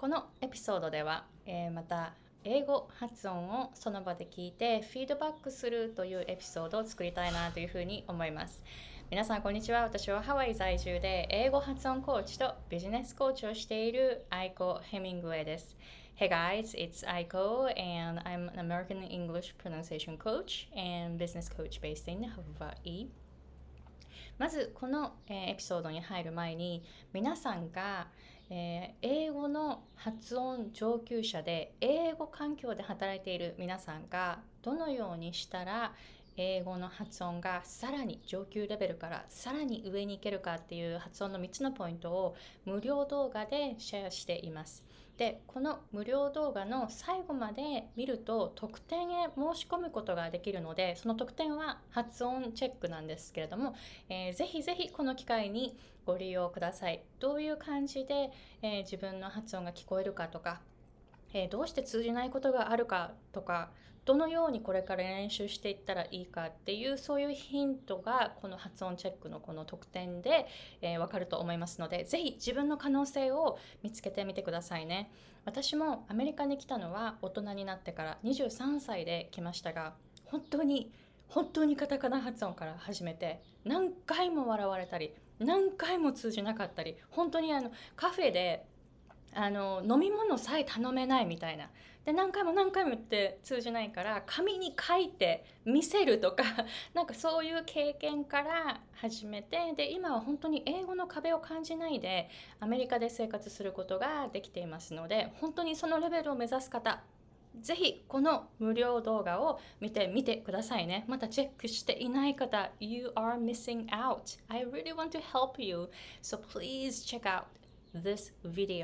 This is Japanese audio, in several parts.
このエピソードでは、また英語発音をその場で聞いてフィードバックするというエピソードを作りたいなというふうに思います。皆さんこんにちは。私はハワイ在住で英語発音コーチとビジネスコーチをしているアイコ・ヘミングウェイです。Hey guys, it's Aiko and I'm an American English pronunciation coach and business coach based in Hawaii. まずこの、エピソードに入る前に皆さんが、英語の発音上級者で英語環境で働いている皆さんがどのようにしたら英語の発音がさらに上級レベルからさらに上に行けるかっていう発音の3つのポイントを無料動画でシェアしています。で、この無料動画の最後まで見ると特典へ申し込むことができるので、その特典は発音チェックなんですけれども、ぜひぜひこの機会にご利用ください。どういう感じで、自分の発音が聞こえるかとか、どうして通じないことがあるかとか、どのようにこれから練習していったらいいかっていうそういうヒントがこの発音チェックのこの特典で、わかると思いますので、ぜひ自分の可能性を見つけてみてくださいね。私もアメリカに来たのは大人になってから23歳で来ましたが、本当にカタカナ発音から始めて何回も笑われたり何回も通じなかったり、本当にカフェで飲み物さえ頼めないみたいな。で、何回も言って通じないから、紙に書いて見せるとか、なんかそういう経験から始めて、で、今は本当に英語の壁を感じないで、アメリカで生活することができていますので、本当にそのレベルを目指す方、ぜひこの無料動画を見てみてくださいね。またチェックしていない方、You are missing out. I really want to help you. So please check out this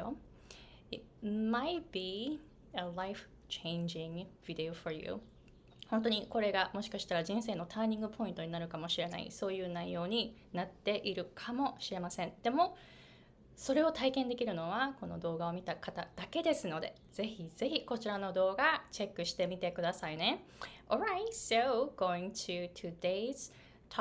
video.It might be a life-changing video for you. 本当にこれがもしかしたら人生のターニングポイントになるかもしれない、そういう内容になっているかもしれません。でもそれを体験できるのはこの動画を見た方だけですので、ぜひぜひこちらの動画チェックしてみてくださいね。Alright, so going to today's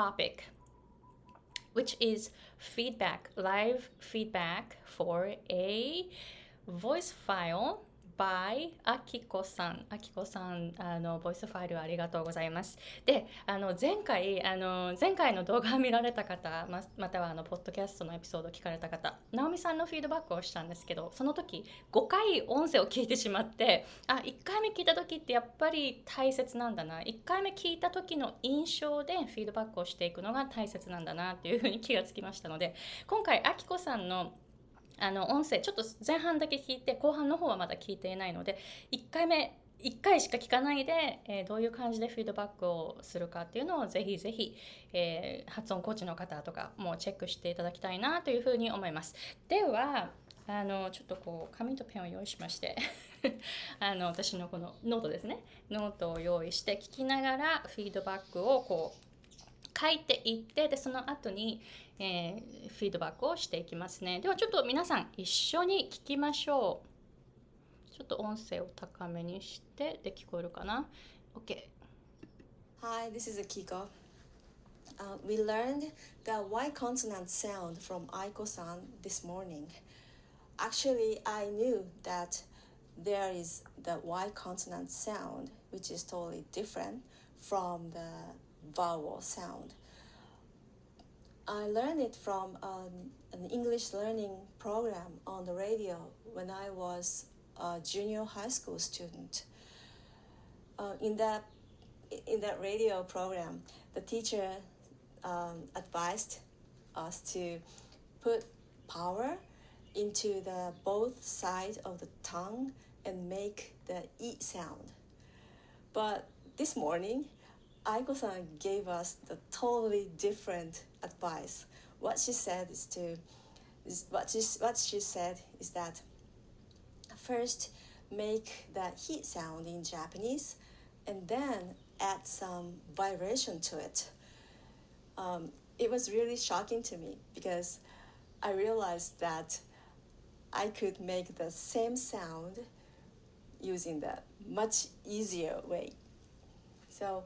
topic.Which is feedback, live feedback for a voice file by あきこさん。あきこさん、ボイスファイルありがとうございます。で、前回の動画を見られた方、またはポッドキャストのエピソードを聞かれた方、ナオミさんのフィードバックをしたんですけど、その時5回音声を聞いてしまって、1回目聞いた時ってやっぱり大切なんだな。1回目聞いた時の印象でフィードバックをしていくのが大切なんだなっていうふうに気がつきましたので、今回あきこさんの音声ちょっと前半だけ聞いて後半の方はまだ聞いていないので、1回しか聞かないで、どういう感じでフィードバックをするかっていうのをぜひぜひ、発音コーチの方とかもチェックしていただきたいなというふうに思います。ではちょっとこう紙とペンを用意しまして私のこのノートですね、ノートを用意して聞きながらフィードバックをこう書いていって、でその後に、フィードバックをしていきますね。ではちょっと皆さん一緒に聞きましょう。ちょっと音声を高めにしてで聞こえるかな？ OK。 Hi, this is Akiko. We learned the Y consonant sound from Aiko-san this morning. Actually, I knew that there is the Y consonant sound, which is totally different from the vowel sound. I learned it from an English learning program on the radio when I was a junior high school student. In that radio program, the teacher advised us to put power into the both sides of the tongue and make the E sound. But this morning, Aiko-san gave us the totally different advice. What she said is that first make the heat sound in Japanese and then add some vibration to it. It was really shocking to me because I realized that I could make the same sound using the much easier way. So,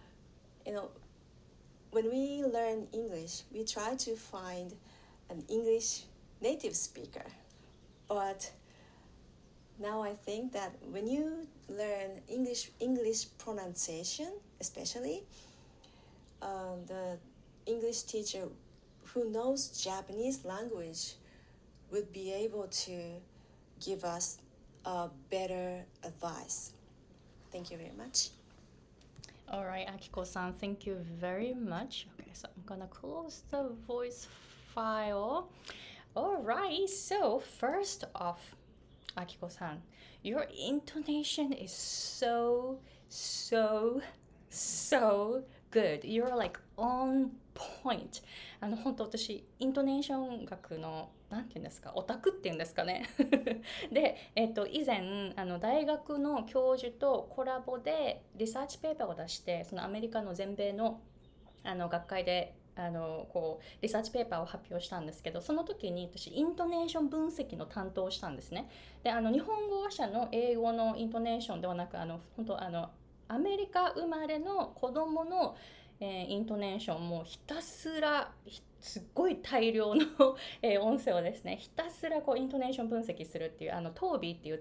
when we learn English, we try to find an English native speaker, but Now I think that when you learn English pronunciation, especially, the English teacher who knows Japanese language would be able to give us a better advice. Thank you very much. All right, Akiko-san, thank you very much. Okay, so I'm gonna close the voice file. All right, so first off, Akiko-san, your intonation is so good. You're like on point. 本当私イントネーション学のなんていうんですか、オタクっていうんですかねで、以前大学の教授とコラボでリサーチペーパーを出して、そのアメリカの全米の学会でこうリサーチペーパーを発表したんですけど、その時に私イントネーション分析の担当をしたんですね。で日本語話者の英語のイントネーションではなく、本当アメリカ生まれの子供の、イントネーションもひたすらすっごい大量の音声をですね、ひたすらこうイントネーション分析するっていうTOBIっていう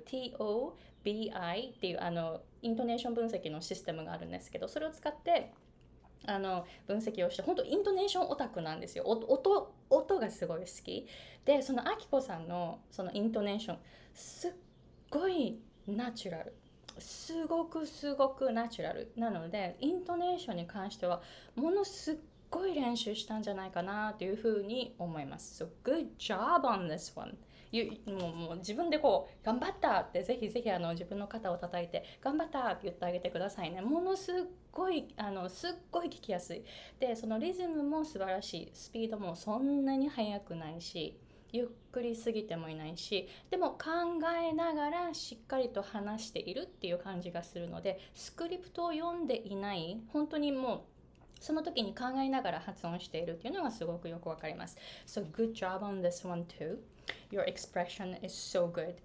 TOBI っていうイントネーション分析のシステムがあるんですけど、それを使って分析をして、本当イントネーションオタクなんですよ。音がすごい好きで、そのあきこさんのそのイントネーションすっごいナチュラル、すごくナチュラルなので、イントネーションに関してはものすっごい練習したんじゃないかなというふうに思います。So good job on this one. もう自分でこう頑張ったってぜひ自分の肩を叩いて頑張ったって言ってあげてくださいね。ものすっごい聞きやすいで、そのリズムも素晴らしい、スピードもそんなに速くないしゆっくりすぎてもいないし、でも考えながらしっかりと話しているっていう感じがするので、スクリプトを読んでいない、本当にもうその時に考えながら発音しているっていうのがすごくよくわかります。So good job on this one too. Your expression is so good.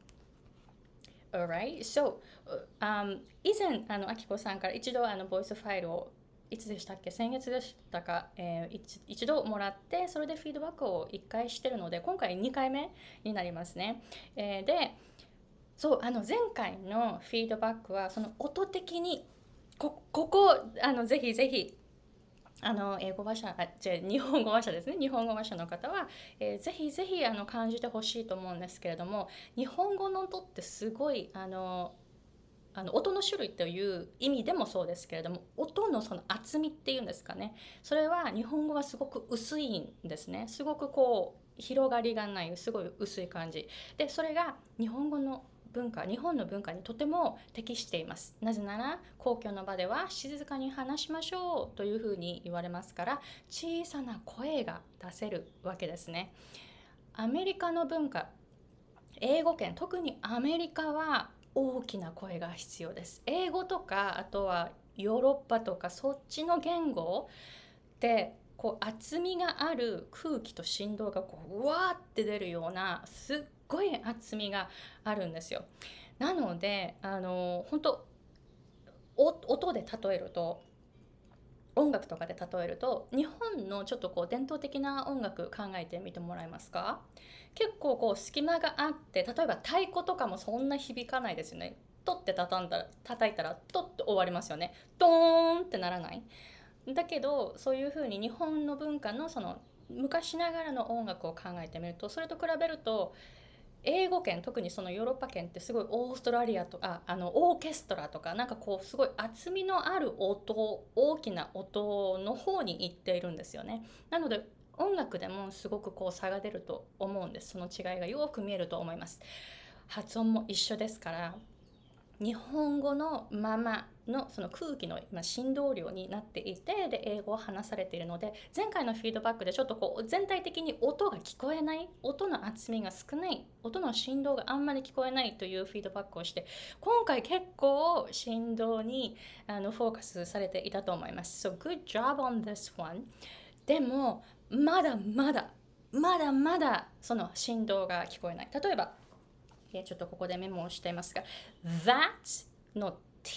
Alright, so、以前あきこさんから一度ボイスファイルをいつでしたっけ、先月でしたか、一度もらって、それでフィードバックを1回してるので、今回2回目になりますね。で、そう前回のフィードバックはその音的にこぜひ英語話者日本語話者ですね、日本語話者の方は、ぜひ感じてほしいと思うんですけれども、日本語の音ってすごい音の種類という意味でもそうですけれども、音のその厚みっていうんですかね、それは日本語はすごく薄いんですね。すごくこう広がりがない、すごい薄い感じで、それが日本の文化にとても適しています。なぜなら公共の場では静かに話しましょうというふうに言われますから、小さな声が出せるわけですね。アメリカの文化、英語圏、特にアメリカは大きな声が必要です。英語とかあとはヨーロッパとかそっちの言語でこう厚みがある空気と振動がこううわーって出るようなすっごい厚みがあるんですよ。なので本当音で例えると、音楽とかで例えると、日本のちょっとこう伝統的な音楽考えてみてもらえますか。結構こう隙間があって、例えば太鼓とかもそんな響かないですよね。トって叩いたらトって終わりますよね。ドーンってならない。だけどそういう風に日本の文化のその昔ながらの音楽を考えてみると、それと比べると英語圏、特にそのヨーロッパ圏ってすごいオーストラリアとかオーケストラとかなんかこうすごい厚みのある音、大きな音の方に行っているんですよね。なので音楽でもすごくこう差が出ると思うんです。その違いがよく見えると思います。発音も一緒ですから、日本語のままのその空気の振動量になっていて、で英語を話されているので、前回のフィードバックでちょっとこう全体的に音が聞こえない、音の厚みが少ない、音の振動があんまり聞こえないというフィードバックをして、今回結構振動にフォーカスされていたと思います。So good job on this one. でもまだまだその振動が聞こえない。例えばちょっとここでメモをしていますが、 that の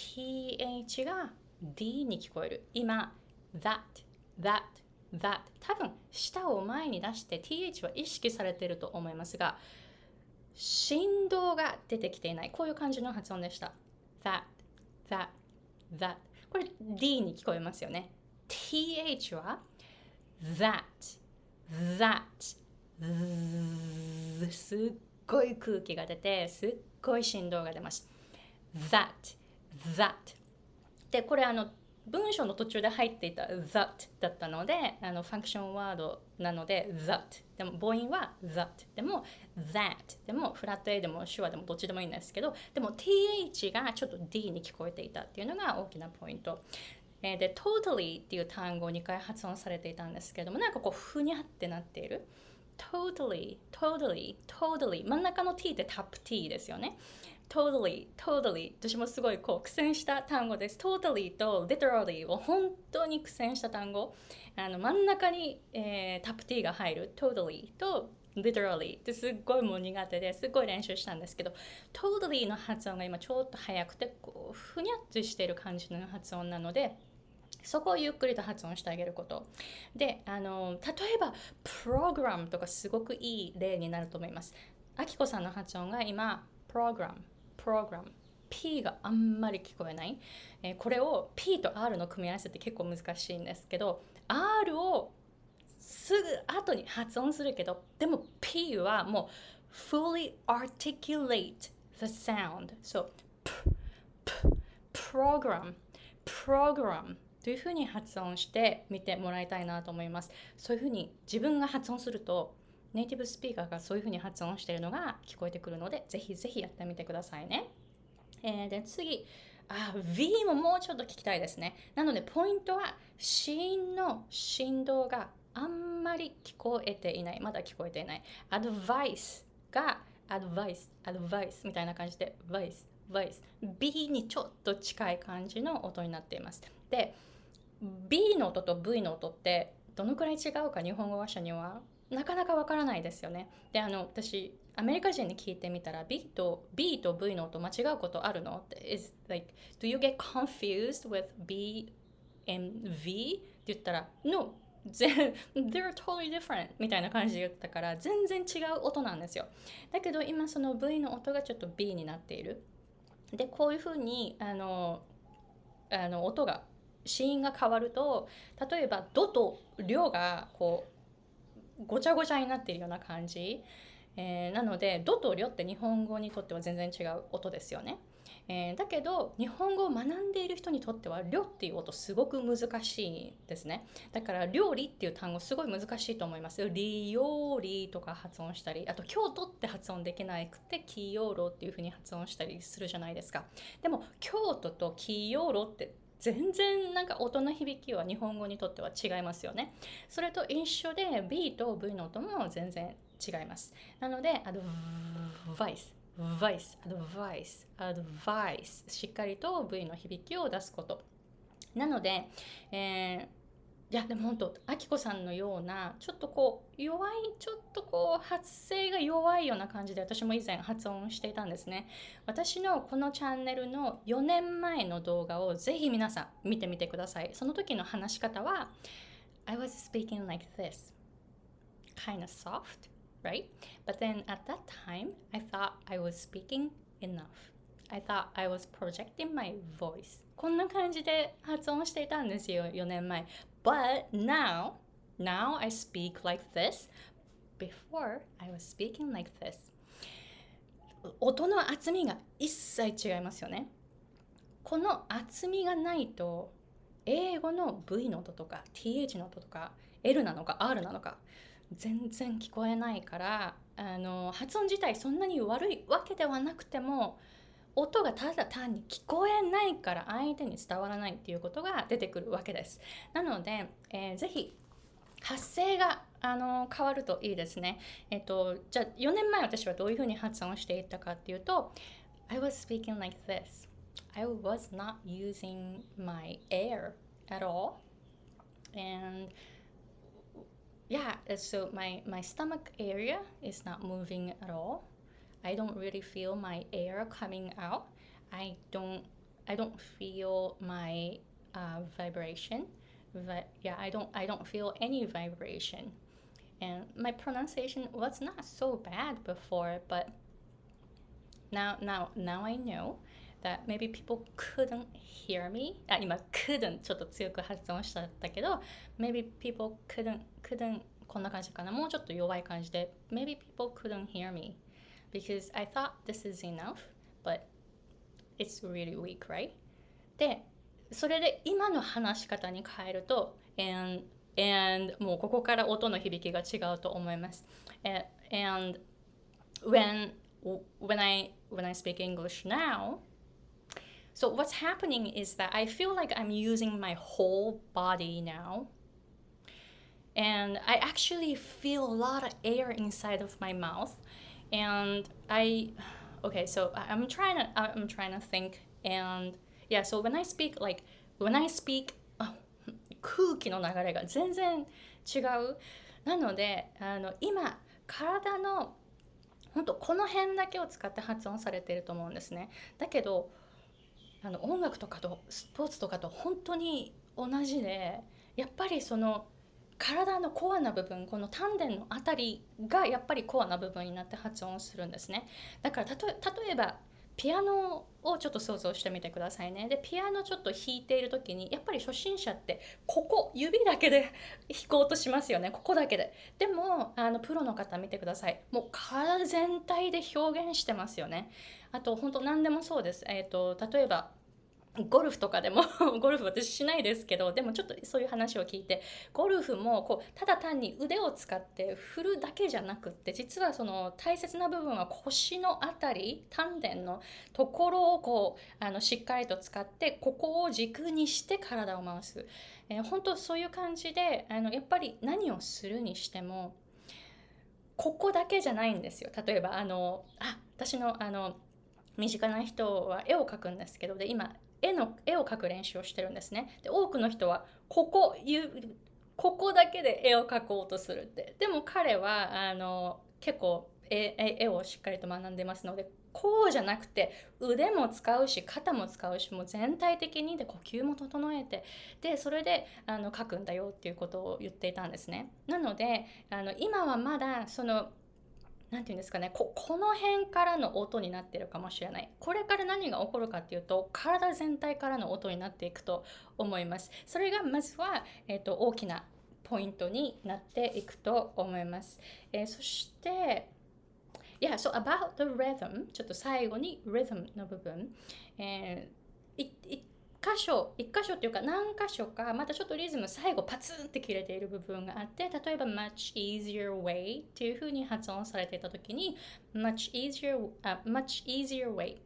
th が d に聞こえる。今 that 多分舌を前に出して th は意識されていると思いますが、 振動が出てきていない。こういう感じの発音でした。that, that。これ D に聞こえますよね。th は that,すっごい空気が出て、すっごい振動が出ます。that。で、これ文章の途中で入っていた that だったので、ファンクションワードなので that。でも母音は that。でも that。でもフラット A でも手話でもどっちでもいいんですけど、でも th がちょっと D に聞こえていたっていうのが大きなポイント。で、totally っていう単語を2回発音されていたんですけども、なんかこうふにゃってなっている。totally。真ん中の T ってタップ T ですよね。totally。私もすごいこう苦戦した単語です。totally と literally を本当に苦戦した単語。真ん中に、タップ T が入る totally と literally ってすっごいもう苦手ですっごい練習したんですけど、totally の発音が今ちょっと早くてこうふにゃっとしている感じの発音なので、そこをゆっくりと発音してあげることで、例えばプログラムとかすごくいい例になると思います。あきこさんの発音が今プログラム P があんまり聞こえない、これを P と R の組み合わせって結構難しいんですけど、 R をすぐ後に発音するけど、でも P はもう fully articulate the sound。 そう、program というふうに発音してみてもらいたいなと思います。そういうふうに自分が発音するとネイティブスピーカーがそういうふうに発音しているのが聞こえてくるので、ぜひぜひやってみてくださいね。で次、V ももうちょっと聞きたいですね。なのでポイントは子音の振動があんまり聞こえていない。まだ聞こえていない。アドバイスがアドバイスみたいな感じでバイス。B にちょっと近い感じの音になっています。で、B の音と V の音ってどのくらい違うか日本語話者にはなかなかわからないですよね。で、私アメリカ人に聞いてみたら B と V の音間違うことあるのって is like do you get confused with B and V って言ったら No they're totally different みたいな感じで言ったから、全然違う音なんですよ。だけど今その V の音がちょっと B になっている。で、こういうふうに音が子音が変わると、例えばドとリョがこうごちゃごちゃになっているような感じ、なのでドとリョって日本語にとっては全然違う音ですよね。だけど日本語を学んでいる人にとってはリョっていう音すごく難しいですね。だから料理っていう単語すごい難しいと思います。リヨリとか発音したり、あと京都って発音できなくてキヨロっていう風に発音したりするじゃないですか。でも京都とキヨロって全然なんか音の響きは日本語にとっては違いますよね。それと一緒で B と V の音も全然違います。なのでアドバイスしっかりと V の響きを出すことなので、いやでも本当あきこさんのようなちょっとこう弱い、ちょっとこう発声が弱いような感じで私も以前発音していたんですね。私のこのチャンネルの4年前の動画をぜひ皆さん見てみてください。その時の話し方は I was speaking like this, kind of soft, right? But then at that time, I thought I was speaking enough. I thought I was projecting my voice. こんな感じで発音していたんですよ、4年前。But now I speak like this. Before, I was speaking like this. 音の厚みが一切違いますよね。この厚みがないと、英語の V の音とか TH の音とか L なのか R なのか全然聞こえないから、発音自体そんなに悪いわけではなくても、音がただ単に聞こえないから相手に伝わらないっていうことが出てくるわけです。なので、ぜひ発声が変わるといいですね。じゃあ4年前私はどういうふうに発音していったかっていうと、I was speaking like this. I was not using my air at all. And yeah, so my stomach area is not moving at all. I don't really feel my air coming out. I don't feel my vibration. But yeah, I don't feel any vibration. And my pronunciation was not so bad before, but Now I know that maybe people couldn't hear me. 今 couldn't ちょっと強く発音しちゃったけど maybe people couldn't こんな感じかな。もうちょっと弱い感じで maybe people couldn't hear me because I thought this is enough but it's really weak, right? で、それで今の話し方に変えると and もうここから音の響きが違うと思います。And when I speak English now, so what's happening is that I feel like I'm using my whole body now. And I actually feel a lot of air inside of my mouth. And okay, so I'm trying to think. And yeah, so when I speak, 空気の流れが全然違う。なので、今、体の本当この辺だけを使って発音されていると思うんですね。だけど音楽とかとスポーツとかと本当に同じで、やっぱりその体のコアな部分、この丹田のあたりがやっぱりコアな部分になって発音するんですね。だから例えばピアノをちょっと想像してみてくださいね。で、ピアノちょっと弾いている時にやっぱり初心者ってここ指だけで弾こうとしますよね。ここだけで。でもプロの方見てください。もう体全体で表現してますよね。あと本当何でもそうです。例えばゴルフとかでもゴルフ私しないですけど、でもちょっとそういう話を聞いて、ゴルフもこうただ単に腕を使って振るだけじゃなくって、実はその大切な部分は腰のあたり、丹田のところをこうしっかりと使って、ここを軸にして体を回す、本当そういう感じでやっぱり何をするにしてもここだけじゃないんですよ。例えば私の身近な人は絵を描くんですけど、で今絵を描く練習をしてるんですね。で多くの人はここだけで絵を描こうとするって。でも彼は結構絵をしっかりと学んでますので、こうじゃなくて腕も使うし肩も使うし、もう全体的にで呼吸も整えて、でそれで描くんだよっていうことを言っていたんですね。なので今はまだそのなんていうんですかね、この辺からの音になってるかもしれない。これから何が起こるかっていうと、体全体からの音になっていくと思います。それがまずは、大きなポイントになっていくと思います。そして、Yeah, so about the rhythm, ちょっと最後に rhythm の部分。一箇所っていうか何箇所かまたちょっとリズム最後パツンって切れている部分があって、例えば much easier way っていう風に発音されていた時に much easier way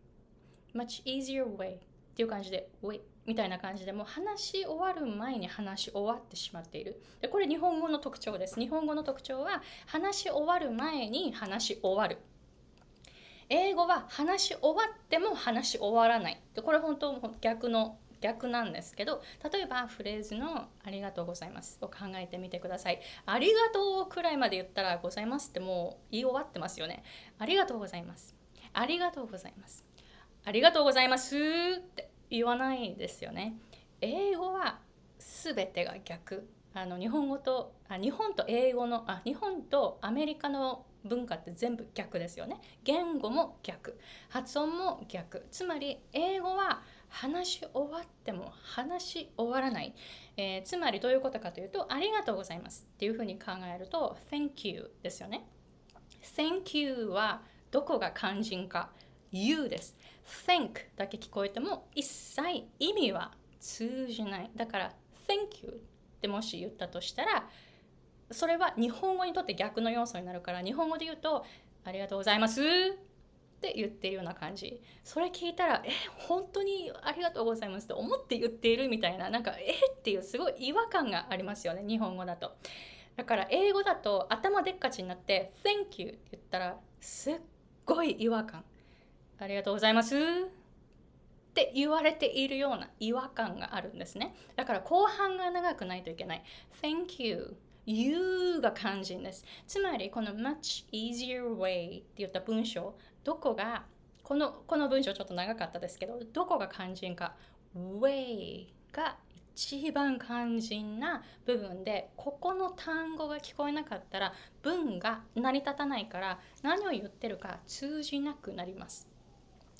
っていう感じで way みたいな感じで、もう話し終わる前に話し終わってしまっている。でこれ日本語の特徴です。日本語の特徴は話し終わる前に話し終わる。英語は話し終わっても話し終わらない。でこれ本当逆なんですけど、例えばフレーズのありがとうございますを考えてみてください。ありがとうくらいまで言ったらございますってもう言い終わってますよね。ありがとうございます。ありがとうございます。ありがとうございますって言わないですよね。英語は全てが逆。日本と英語の日本とアメリカの文化って全部逆ですよね。言語も逆、発音も逆。つまり英語は話し終わっても話し終わらない。つまりどういうことかというと、ありがとうございますっていうふうに考えると Thank you ですよね。Thank you はどこが肝心か、 You です。 Thank だけ聞こえても一切意味は通じない。だから Thank you ってもし言ったとしたら、それは日本語にとって逆の要素になるから、日本語で言うとありがとうございますって言ってるような感じ。それ聞いたら本当にありがとうございますって思って言っているみたいな、なんかっていうすごい違和感がありますよね、日本語だと。だから英語だと頭でっかちになって Thank you って言ったらすっごい違和感、ありがとうございますって言われているような違和感があるんですね。だから後半が長くないといけない。 Thank you、You が肝心です。つまりこの much easier way って言った文章、どこがこの文章ちょっと長かったですけど、どこが肝心か、 way が一番肝心な部分で、ここの単語が聞こえなかったら文が成り立たないから、何を言ってるか通じなくなります。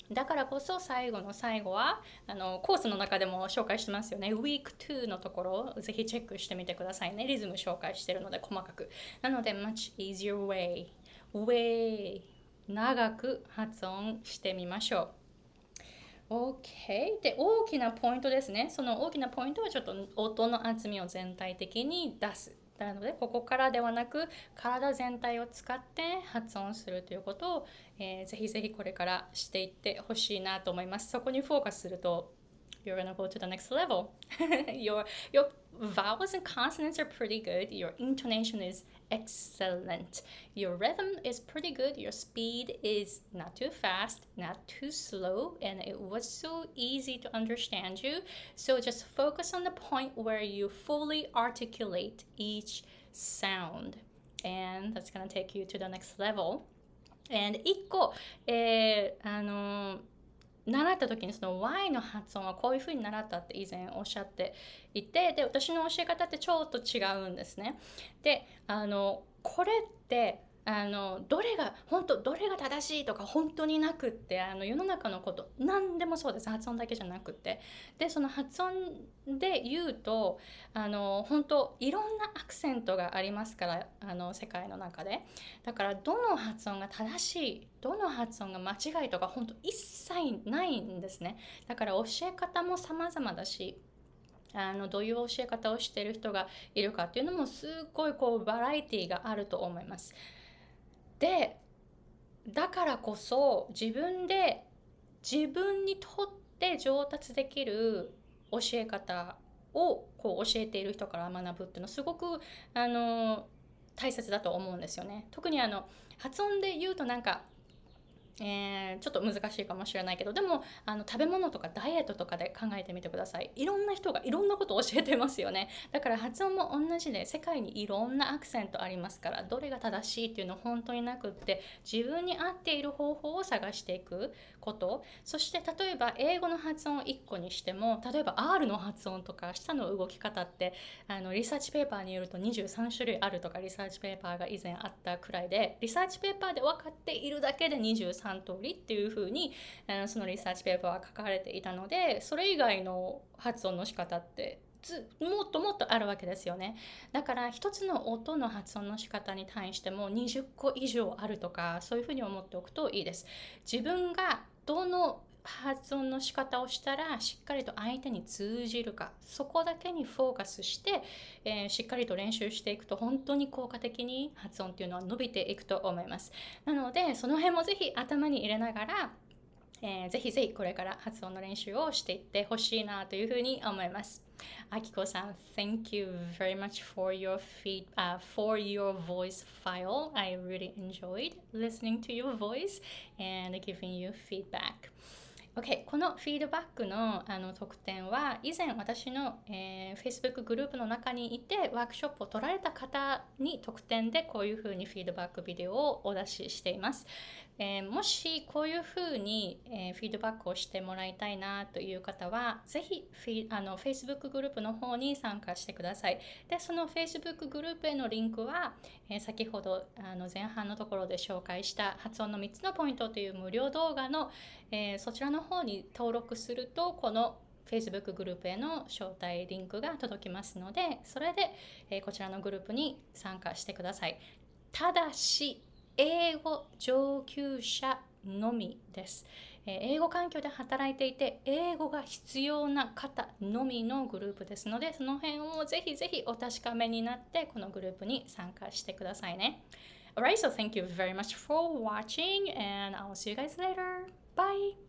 だからこそ最後の最後はコースの中でも紹介してますよね。Week 2のところをぜひチェックしてみてくださいね。リズム紹介してるので細かく。なので much easier way 長く発音してみましょう。OK。で、大きなポイントですね。その大きなポイントはちょっと音の厚みを全体的に出す。なので、ここからではなく、体全体を使って発音するということを、ぜひぜひこれからしていってほしいなと思います。そこにフォーカスすると、You're gonna go to the next level. your vowels and consonants are pretty good. Your intonation is excellent. Your rhythm is pretty good. Your speed is not too fast, not too slow, and it was so easy to understand you. So just focus on the point where you fully articulate each sound. And that's gonna take you to the next level. And 1個、習った時にその Y の発音はこういう風に習ったって以前おっしゃっていて、で私の教え方ってちょっと違うんですね。でこれってどれが正しいとか本当になくって、世の中のこと何でもそうです。発音だけじゃなくて、でその発音で言うと本当いろんなアクセントがありますから、世界の中で。だからどの発音が正しい、どの発音が間違いとか本当一切ないんですね。だから教え方も様々だし、どういう教え方をしている人がいるかっていうのもすっごいバラエティがあると思います。で、だからこそ自分にとって上達できる教え方を教えている人から学ぶっていうのはすごく大切だと思うんですよね。特に発音で言うとなんかちょっと難しいかもしれないけど、でも食べ物とかダイエットとかで考えてみてください。いろんな人がいろんなことを教えてますよね。だから発音も同じで、世界にいろんなアクセントありますから、どれが正しいっていうのは本当になくって、自分に合っている方法を探していくこと。そして例えば英語の発音を1個にしても、例えば R の発音とか舌の動き方ってリサーチペーパーによると23種類あるとかリサーチペーパーが以前あったくらいで、リサーチペーパーで分かっているだけで23通りっていう風にそのリサーチペーパーは書かれていたので、それ以外の発音の仕方ってもっともっとあるわけですよね。だから一つの音の発音の仕方に対しても20個以上あるとか、そういうふうに思っておくといいです。自分がどの発音の仕方をしたらしっかりと相手に通じるか、そこだけにフォーカスして、しっかりと練習していくと本当に効果的に発音っていうのは伸びていくと思います。なのでその辺もぜひ頭に入れながら、ぜひぜひこれから発音の練習をしていってほしいなというふうに思います。あきこさん、Thank you very much for your voice file. I really enjoyed listening to your voice and giving you feedback.OK、このフィードバックの特典は以前私の、Facebook グループの中にいてワークショップを取られた方に特典でこういうふうにフィードバックビデオをお出ししています。もしこういうふうに、フィードバックをしてもらいたいなという方はぜひFacebook グループの方に参加してください。で、その Facebook グループへのリンクは、先ほど前半のところで紹介した発音の3つのポイントという無料動画の、そちらの方に登録するとこの Facebook グループへの招待リンクが届きますので、それで、こちらのグループに参加してください。ただし英語上級者のみです。英語環境で働いていて英語が必要な方のみのグループですので、その辺をぜひぜひお確かめになってこのグループに参加してくださいね。Alright, so thank you very much for watching and I'll see you guys later. Bye!